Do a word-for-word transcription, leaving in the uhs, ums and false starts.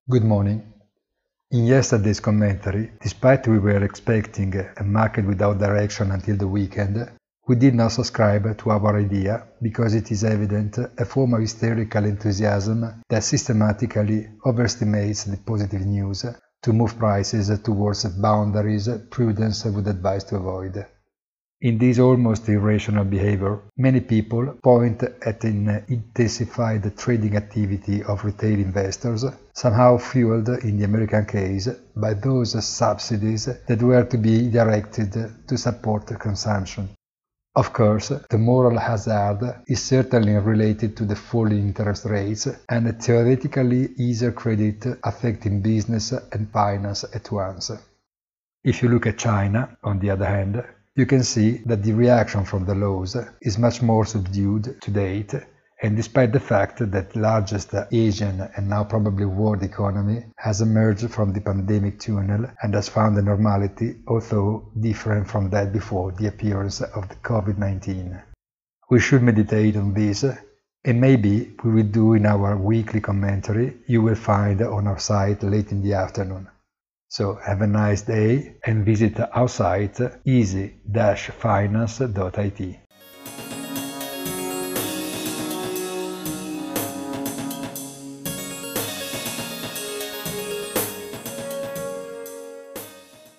Good morning. In yesterday's commentary, despite we were expecting a market without direction until the weekend, we did not subscribe to our idea because it is evident a form of hysterical enthusiasm that systematically overestimates the positive news to move prices towards boundaries prudence would advise to avoid. In this almost irrational behavior, many people point at an intensified trading activity of retail investors, somehow fueled in the American case by those subsidies that were to be directed to support consumption. Of course, the moral hazard is certainly related to the falling interest rates and a theoretically easier credit affecting business and finance at once. If you look at China, on the other hand, you can see that the reaction from the lows is much more subdued to date, and despite the fact that the largest Asian and now probably world economy has emerged from the pandemic tunnel and has found a normality, although different from that before the appearance of the COVID nineteen. We should meditate on this, and maybe we will do in our weekly commentary you will find on our site late in the afternoon. So have a nice day and visit our site easy dash finance dot I T.